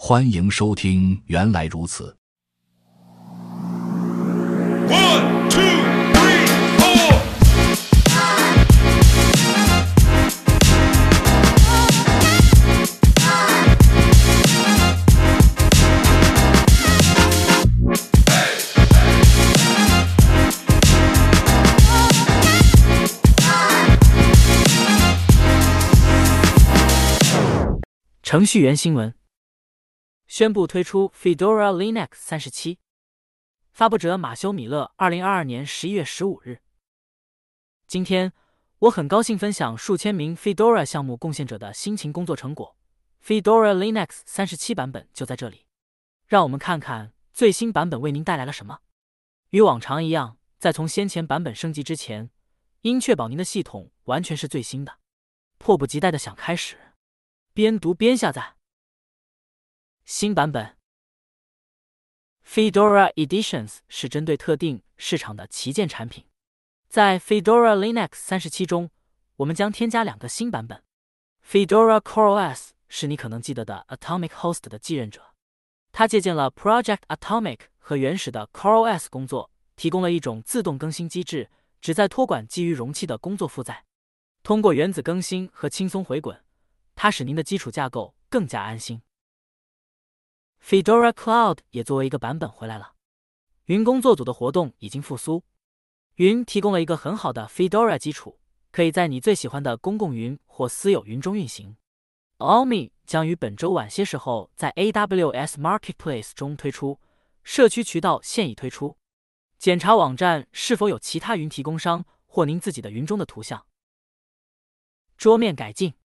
欢迎收听原来如此。 One, two, three, four. 程序员新闻宣布推出 Fedora Linux 37，发布者马修·米勒，2022年11月15日。今天，我很高兴分享数千名 Fedora 项目贡献者的辛勤工作成果。Fedora Linux 37版本就在这里，让我们看看最新版本为您带来了什么。与往常一样，在从先前版本升级之前，应确保您的系统完全是最新的。迫不及待的想开始，边读边下载。新版本 Fedora Editions 是针对特定市场的旗舰产品。在 Fedora Linux 37中，我们将添加2个新版本。Fedora CoreOS 是你可能记得的 Atomic Host 的继任者，它借鉴了 Project Atomic 和原始的 CoreOS 工作，提供了一种自动更新机制，旨在托管基于容器的工作负载。通过原子更新和轻松回滚，它使您的基础架构更加安心。Fedora Cloud 也作为一个版本回来了。云工作组的活动已经复苏。云提供了一个很好的 Fedora 基础，可以在你最喜欢的公共云或私有云中运行。Almi 将于本周晚些时候在 AWS Marketplace 中推出，社区渠道现已推出。检查网站是否有其他云提供商或您自己的云中的图像。桌面改进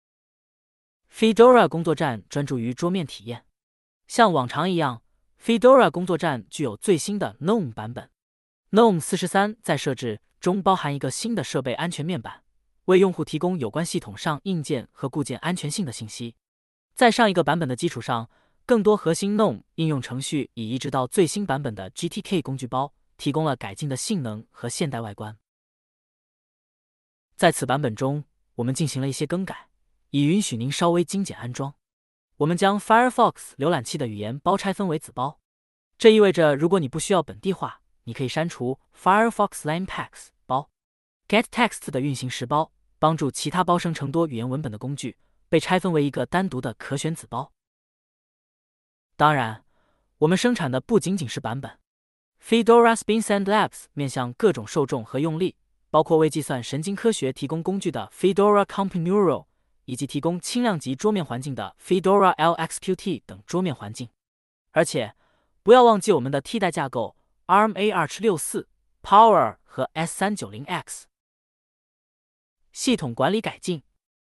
Fedora 工作站专注于桌面体验。像往常一样 ，Fedora 工作站具有最新的 GNOME 版本。GNOME 43在设置中包含一个新的设备安全面板，为用户提供有关系统上硬件和固件安全性的信息。在上一个版本的基础上，更多核心 GNOME 应用程序已移植到最新版本的 GTK 工具包，提供了改进的性能和现代外观。在此版本中，我们进行了一些更改，以允许您稍微精简安装。我们将 Firefox 浏览器的语言包拆分为子包，这意味着如果你不需要本地化，你可以删除 Firefox Lame Packs 包。getText 的运行时包帮助其他包生成多语言文本的工具被拆分为一个单独的可选子包。当然，我们生产的不仅仅是版本。Fedora Spin Labs 面向各种受众和用例，包括为计算神经科学提供工具的 Fedora CompuNeural，以及提供轻量级桌面环境的 Fedora LXQT 等桌面环境。而且，不要忘记我们的替代架构 ARM-A2764、Power 和 S390X。系统管理改进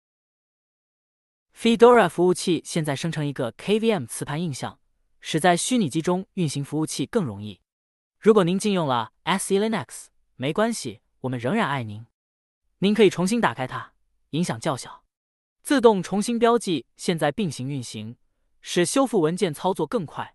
Fedora 服务器现在生成一个 KVM 磁盘映像，使在虚拟机中运行服务器更容易。如果您禁用了 SELinux， 没关系，我们仍然爱您。您可以重新打开它，影响较小。自动重新标记现在并行运行，使修复文件操作更快。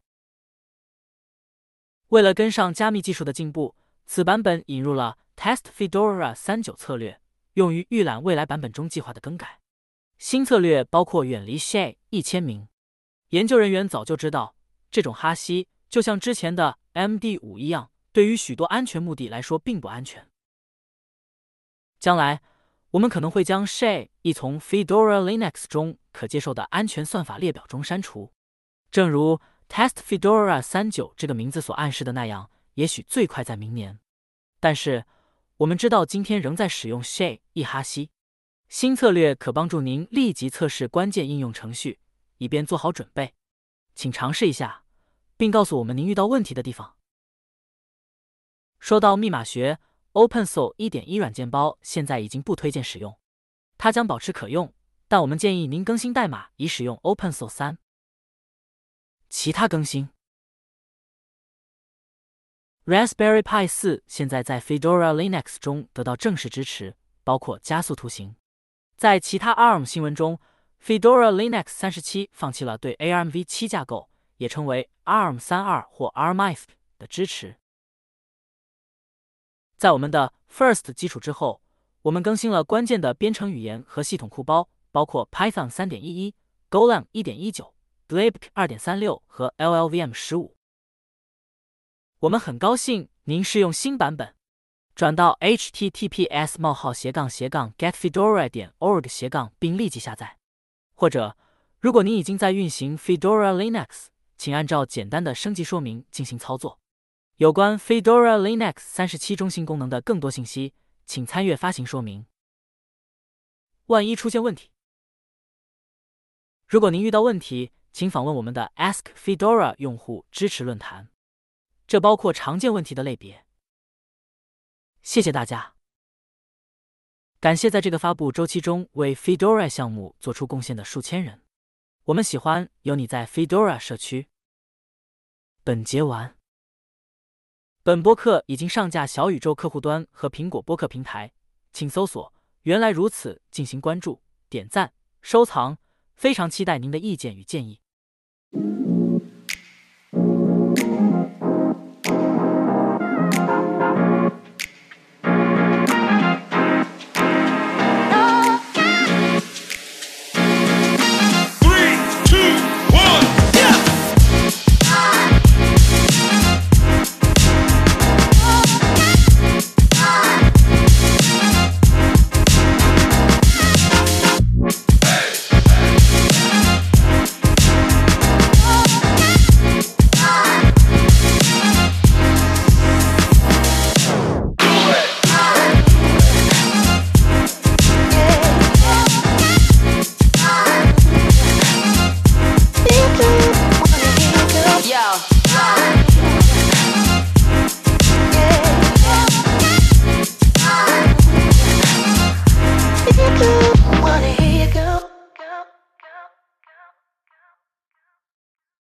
为了跟上加密技术的进步，此版本引入了 Test Fedora 39策略，用于预览未来版本中计划的更改。新策略包括远离 SHA 1000名。研究人员早就知道，这种哈希就像之前的 MD5 一样，对于许多安全目的来说并不安全。将来，我们可能会将 SHA 从 Fedora Linux 中可接受的安全算法列表中删除。正如 Test Fedora 39这个名字所暗示的那样，也许最快在明年。但是，我们知道今天仍在使用 SHA 哈希。新策略可帮助您立即测试关键应用程序，以便做好准备。请尝试一下，并告诉我们您遇到问题的地方。说到密码学，OpenSol 1.1 软件包现在已经不推荐使用，它将保持可用，但我们建议您更新代码以使用 OpenSol 3。其他更新 Raspberry Pi 4现在在 Fedora Linux 中得到正式支持，包括加速图形。在其他 ARM 新闻中， Fedora Linux 37放弃了对 ARMv7 架构，也称为 ARM32 或 ARMIF 的支持。在我们的 First 基础之后，我们更新了关键的编程语言和系统库包，包括 Python 3.11、Golang 1.19、 Blake 2.36和 LLVM 15。我们很高兴您试用新版本。转到 https://getfedora.org/ 并立即下载。或者，如果您已经在运行 Fedora Linux，请按照简单的升级说明进行操作。有关 Fedora Linux 37中新功能的更多信息，请参阅发行说明。万一出现问题，如果您遇到问题，请访问我们的 Ask Fedora 用户支持论坛，这包括常见问题的类别。谢谢大家，感谢在这个发布周期中为 Fedora 项目做出贡献的数千人。我们喜欢有你在 Fedora 社区。本节完。本播客已经上架小宇宙客户端和苹果播客平台，请搜索“原来如此”进行关注、点赞、收藏。非常期待您的意见与建议。